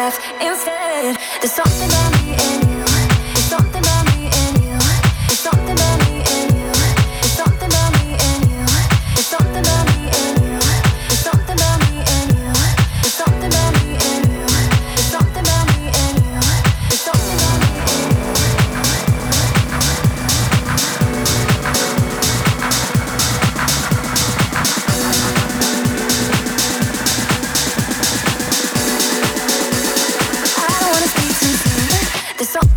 laugh instead. There's something about me and you. There's something about me and you. There's something about me and you. There's something about me and you. There's something about me and you. There's something about me and you. There's something about me and you. There's something about me and you. There's something about me and you. I don't wanna speak too soon. There's something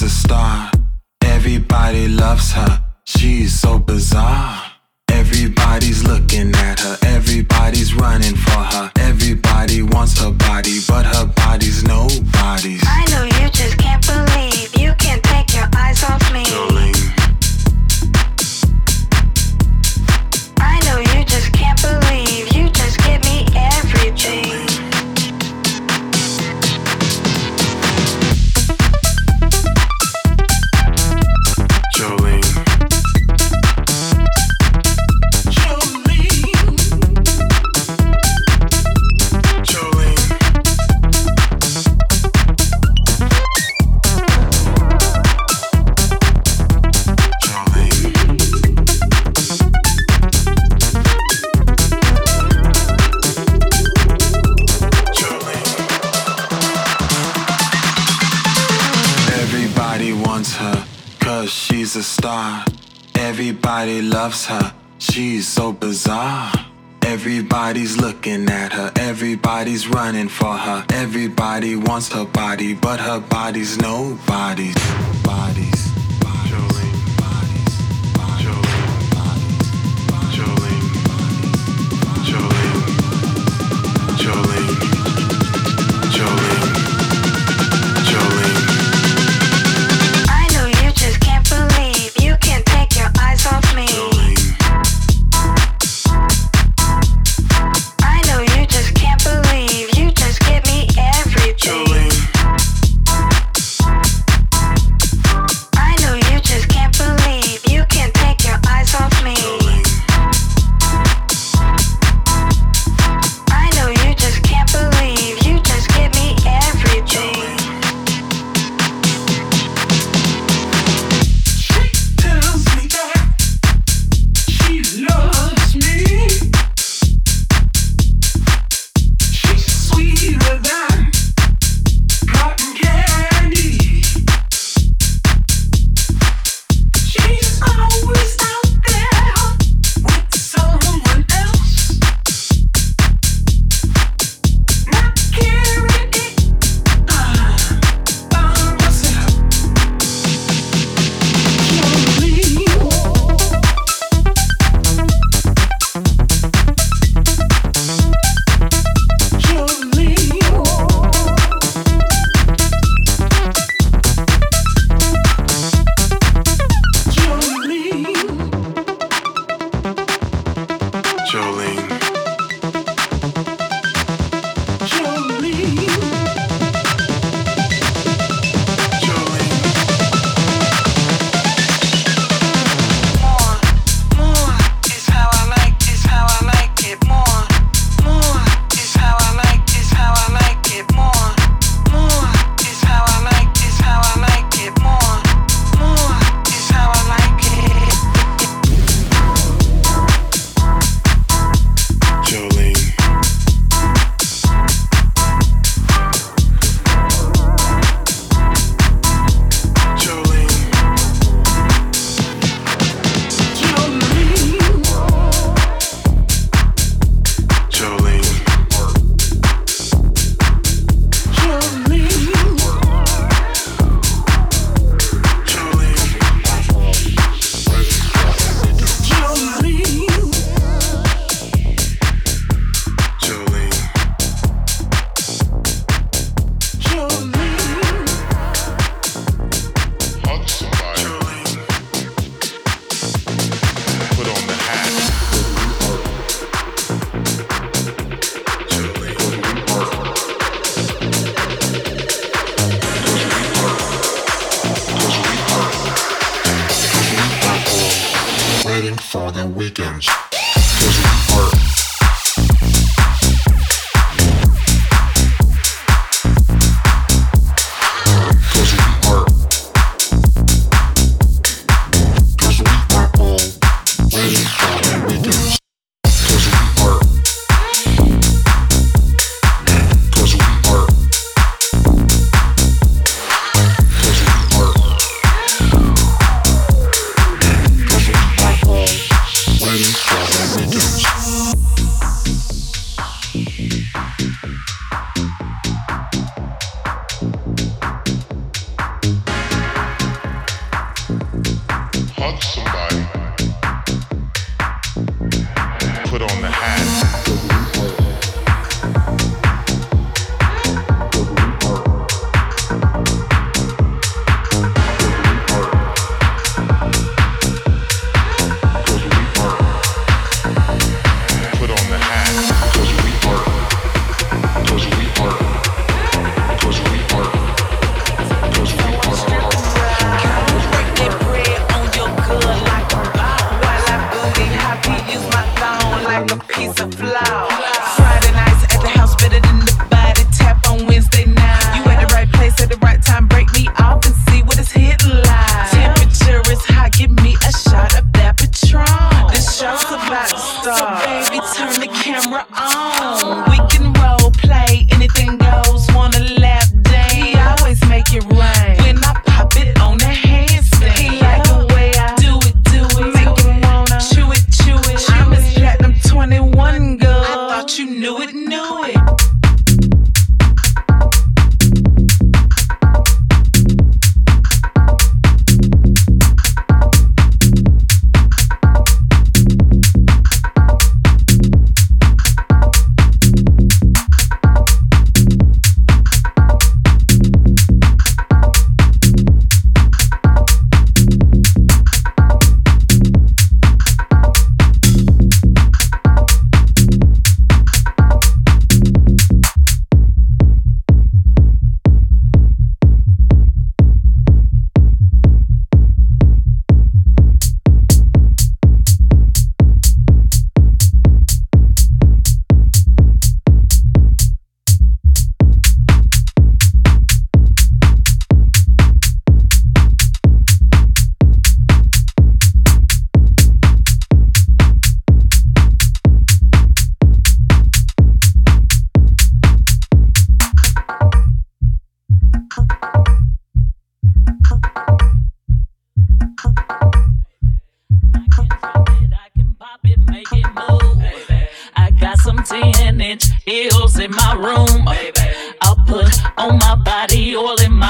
she's a star. Everybody loves her, she's so bizarre. Everybody's looking at her, everybody's running for her. Everybody wants her body, but her body's nobody's. I know you just can't believe you can't take your eyes off me. Jolene. I know you just can't believe you just give me everything. Jolene. She's a star. Everybody loves her, she's so bizarre. Everybody's looking at her, everybody's running for her. Everybody wants her body, but her body's nobody's. Bodies. Jolene. Bodies. Jolene. Bodies. Jolene. Jolene. Jolene. Jolene. Jolene. Off me. I know you just can't believe you just give me everything. I know you just can't believe you can't take your eyes off me. I know you just can't believe you just give me everything. Loves me. She's sweeter than cotton candy. She's always out there with someone else, not caring it by myself. Jolene. Waiting for the weekends, 'cause we are. Waiting for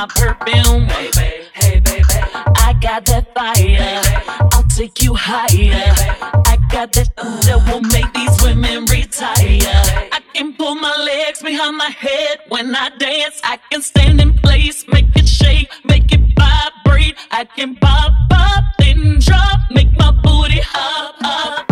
my perfume. Baby, hey baby, I got that fire. I'll take you higher. I got that that will make these women retire. I can pull my legs behind my head when I dance. I can stand in place, make it shake, make it vibrate. I can pop up, then drop, make my booty hop up.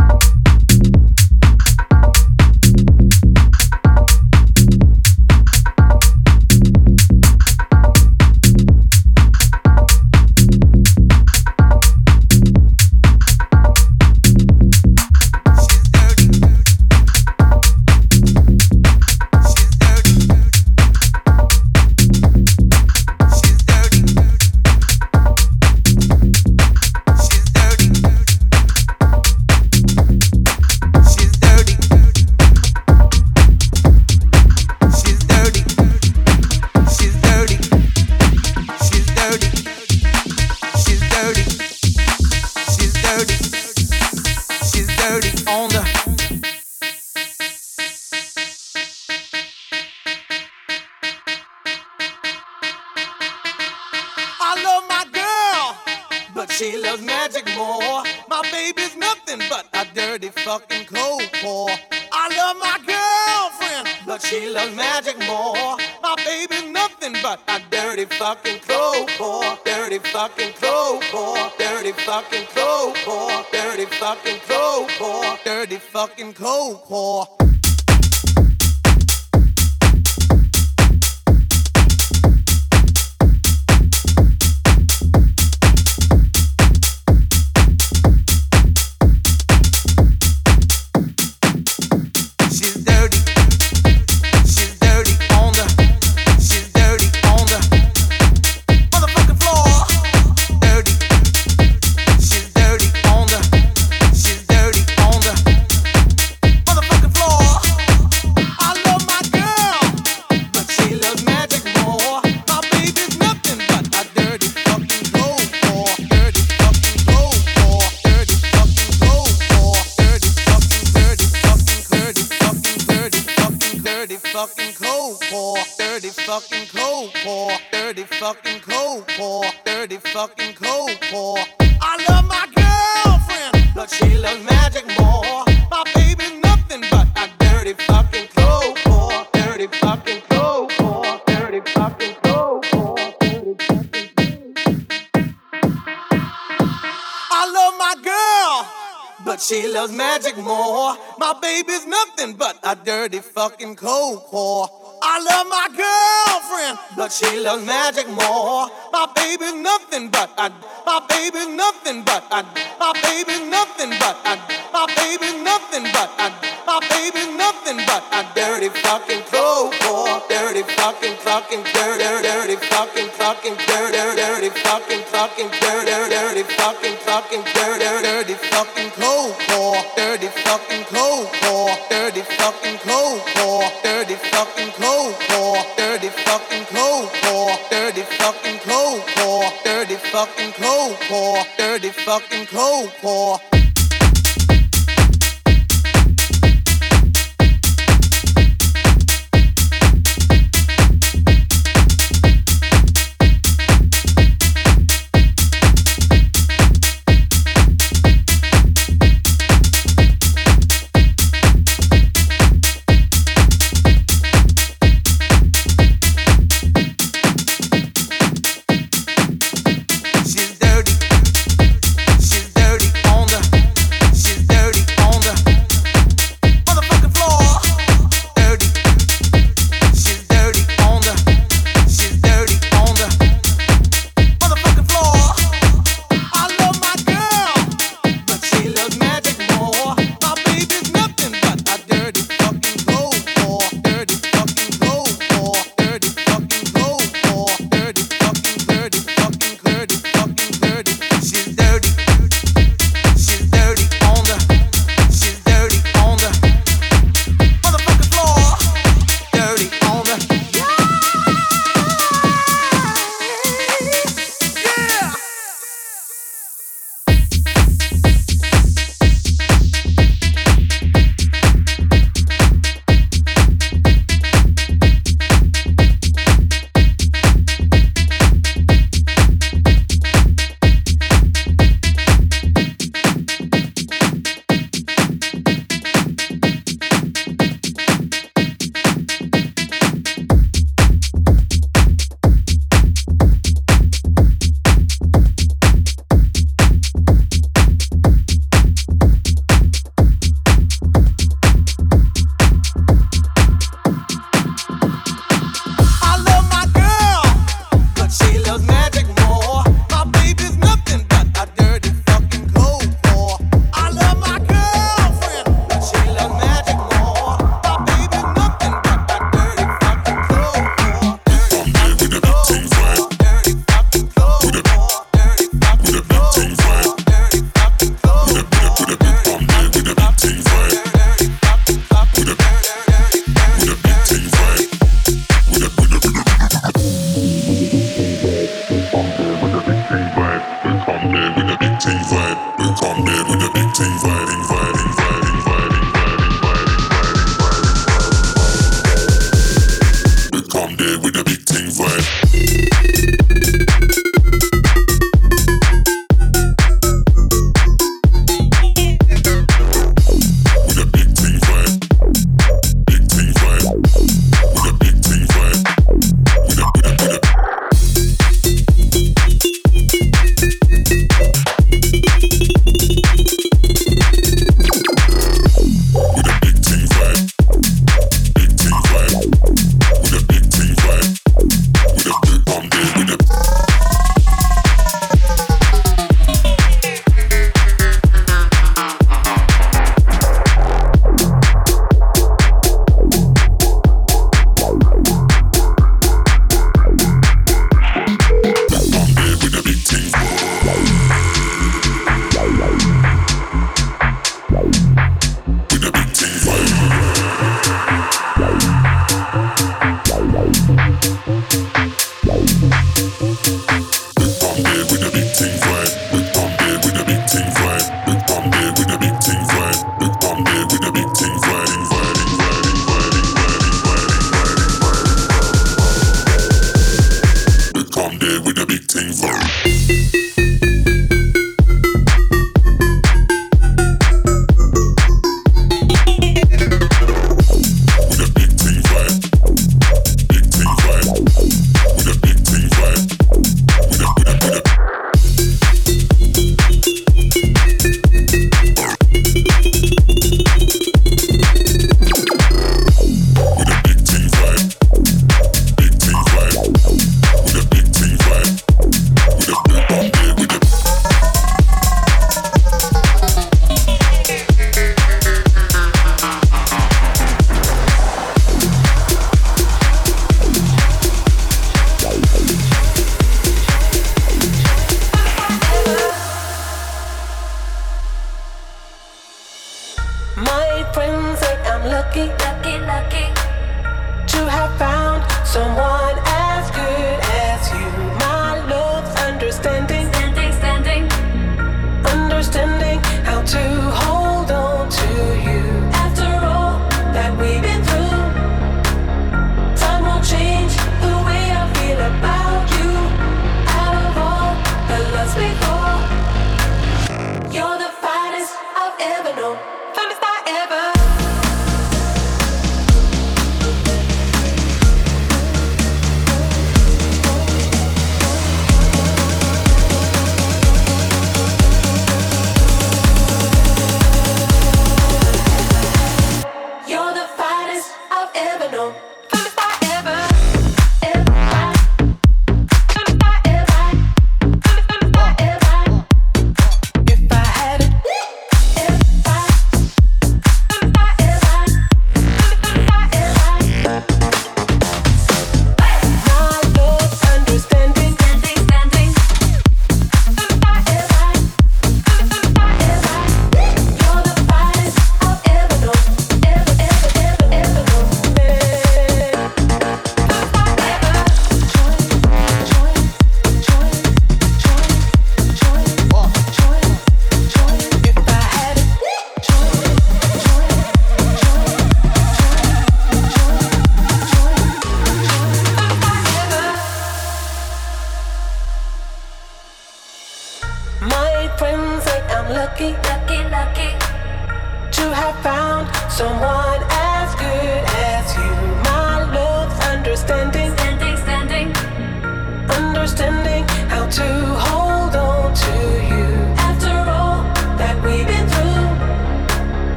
She loves magic more. My baby's nothing but a dirty fucking cold core. I love my girlfriend, but she loves magic more. My baby's nothing but a dirty fucking cold core. Dirty fucking cold core. Dirty fucking cold core. Dirty fucking cold core. Dirty fucking cold core. She loves magic more. My baby's nothing but a dirty fucking cold core. I love my girlfriend, but she loves magic more. My baby's nothing but a, my baby's nothing but a, my baby's nothing but a, my baby's nothing but a, my baby's nothing but a dirty fucking cold core. Dirty fucking fucking dirty, dirty fucking fucking dirty, dirty fucking fucking dirty, dirty fucking fucking dirty, dirty fucking cold core. Dirty fucking cold core. Dirty fucking cold core. Dirty fucking cold core. Dirty fucking cold core. Dirty fucking cold core. Dirty fucking cold core. Dirty fucking cold core. She's dirty on the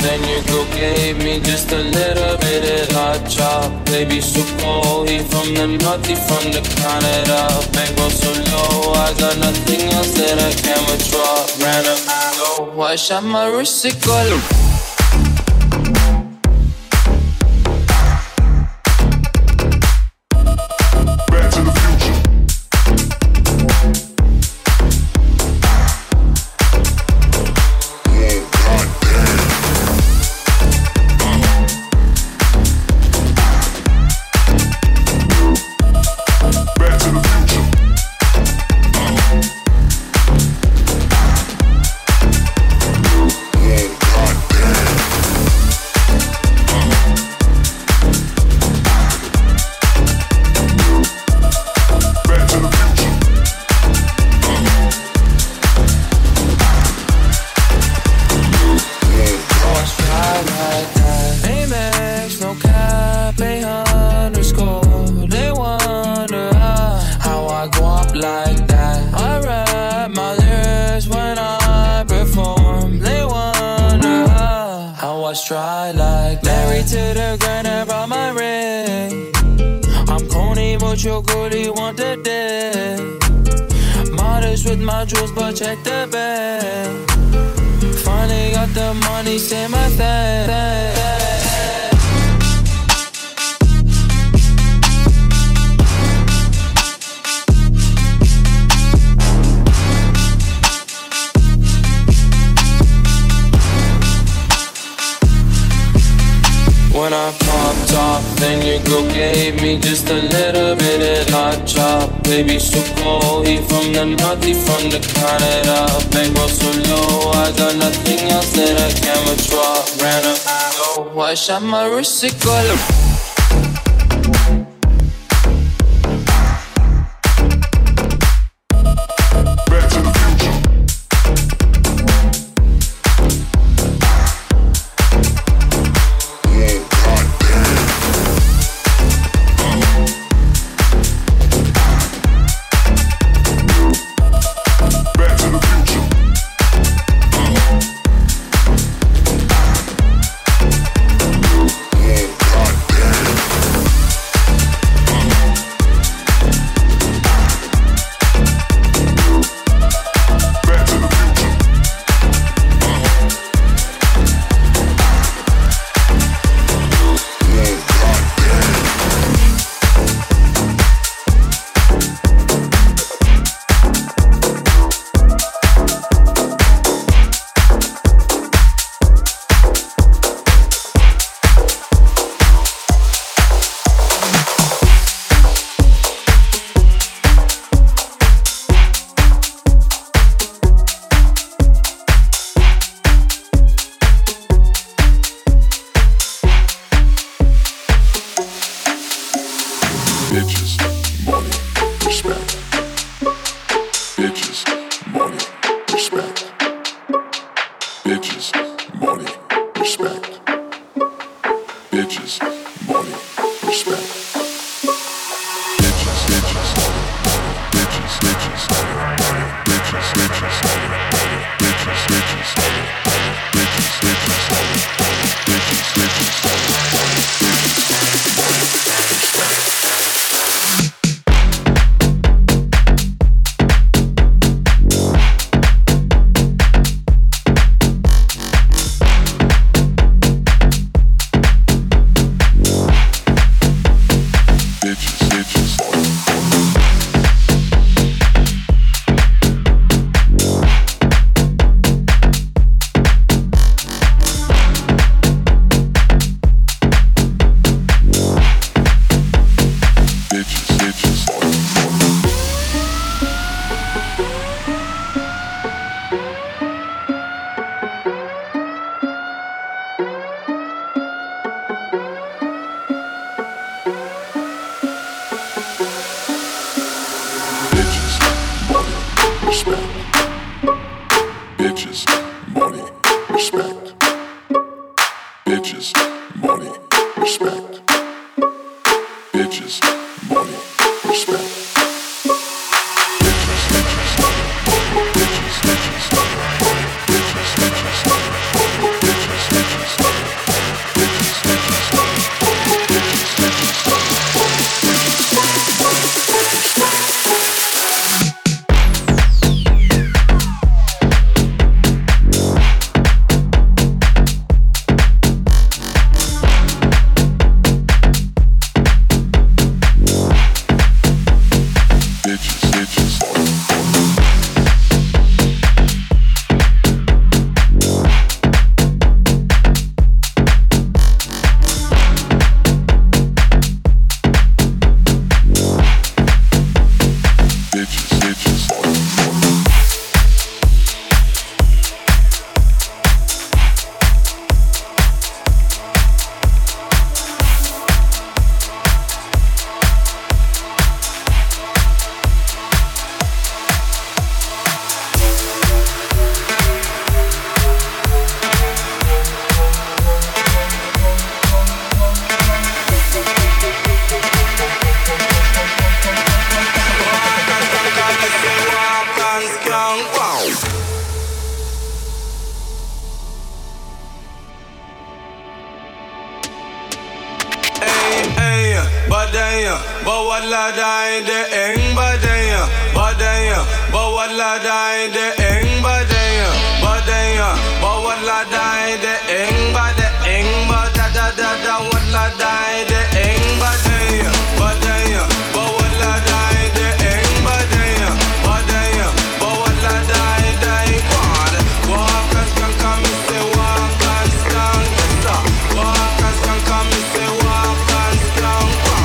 then your girl gave me just a little bit of hot chop. Baby, so cold, he from the north, he from the Canada. Bankroll so low, I got nothing else that I can withdraw. Ran up, go, I shot my wrist, it go low. Check the bag. Finally got the money, say my thing. When I popped off, then your girl gave me just a little bit of hot chop. Baby, so cold, he from the north, he from the Canada. Bankroll so low, I got nothing else that I can withdraw. Ran up, go, I shot my wrist, it go low. Bitches, Bawala dai de eng badaya, badaya, bawala dai de eng badaya, badaya, bawala dai de eng bada eng bada da da da wala dai de eng badaya, badaya, bawala dai de eng badaya, badaya, bawala dai dai bada. Walk as can come and say walk and stand, walk as can come and say walk and stand.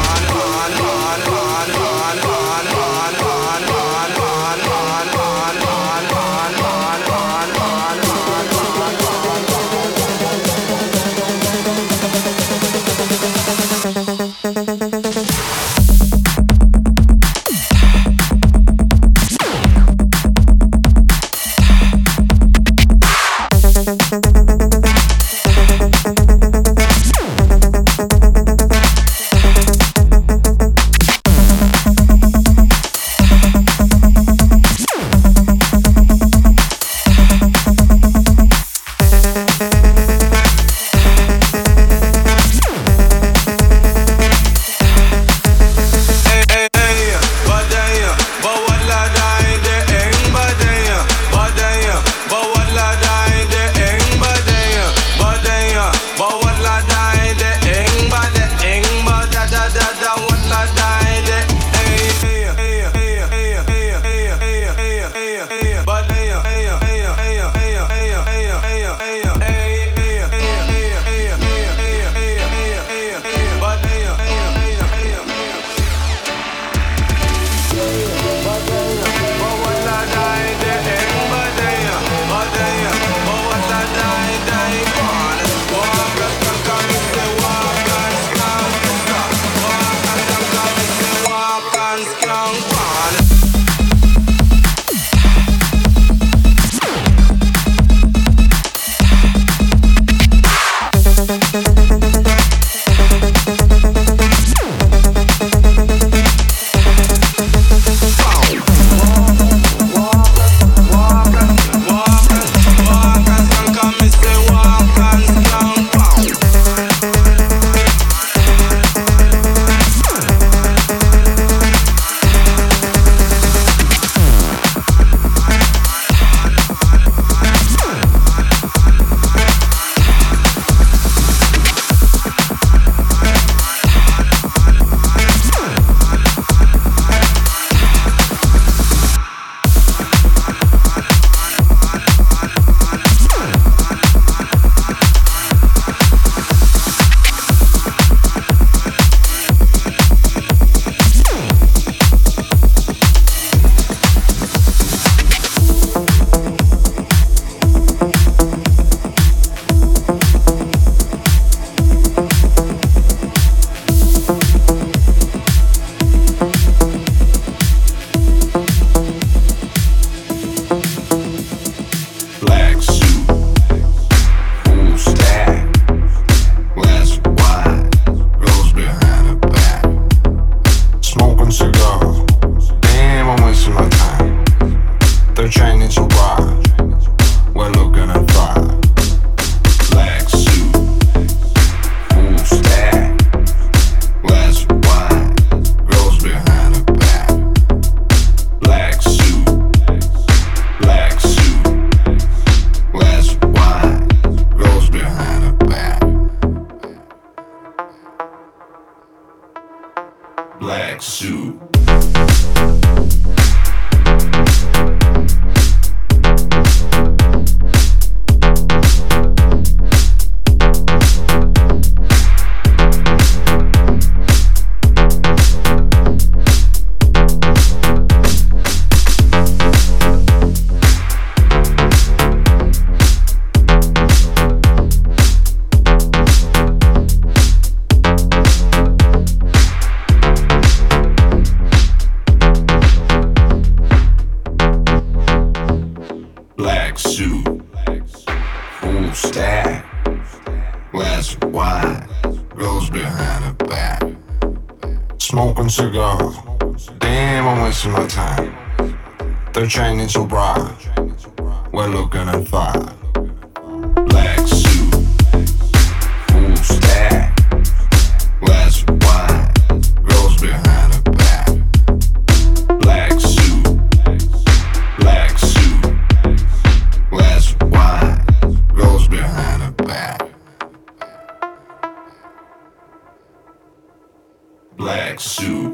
Black suit. Black suit, full stack, glass of wine, goes behind her back. Smoking cigars, damn, I'm wasting my time. They're chaining so bright, we're looking at fire. Black suit, full stack, glass of wine, back. Black suit.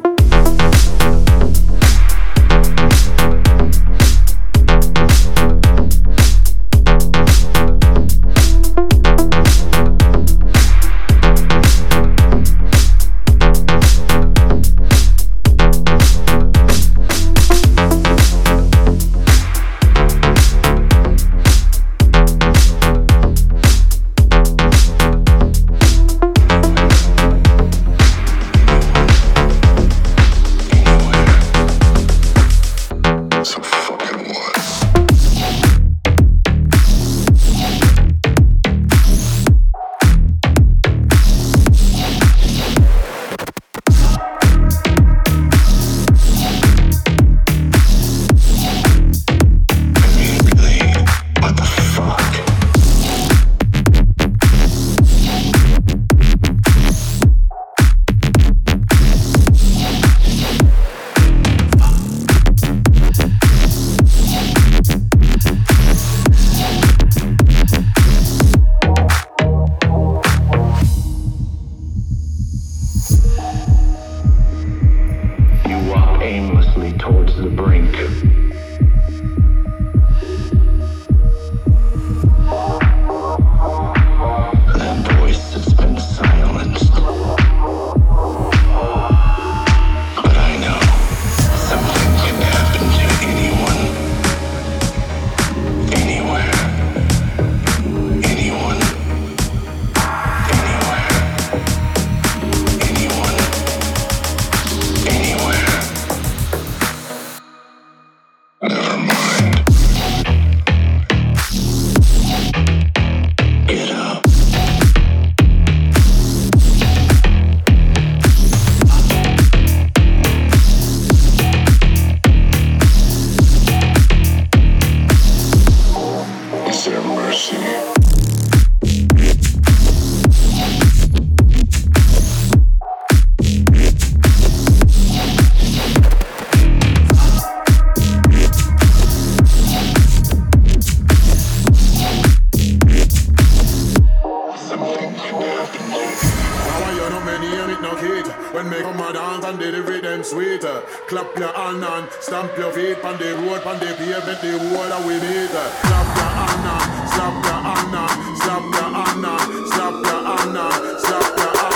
Clap your hand and stamp your feet on the road, on the pavement, the wall we need. Clap your hand and slap your hand and slap your hand and slap your hand and slap your hand,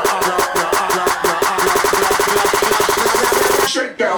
shake down.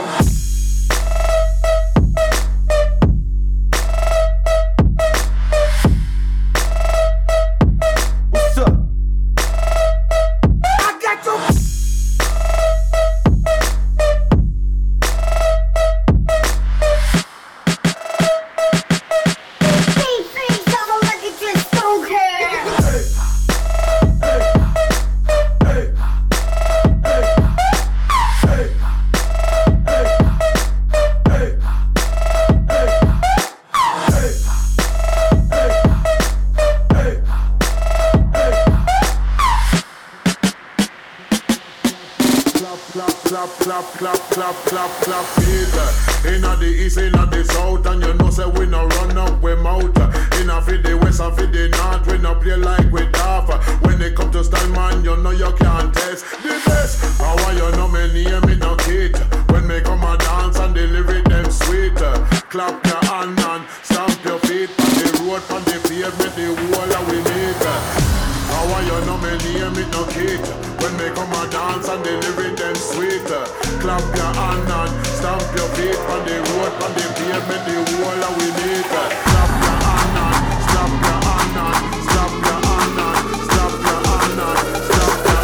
Clap, feet. Inna the east, inna the south, and you know say we no run up we mouth. Inna for the west and for the north, we no play like we tough. When it come to style, man, you know you can't test the best. How you know me name it no kid? When me come a dance and the lyric them sweet. Clap your hand and stamp your feet on the road, on the pavement, the wall that we need. How you know me name it no kid? When me come a dance and the lyric them sweet. Clap your hand and stamp your feet on the road, on the pavement, the wall that we need. Clap your hand and slap your hand and slap your hand and slap your hand and slap your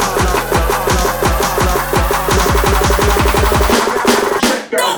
hand. Shake down.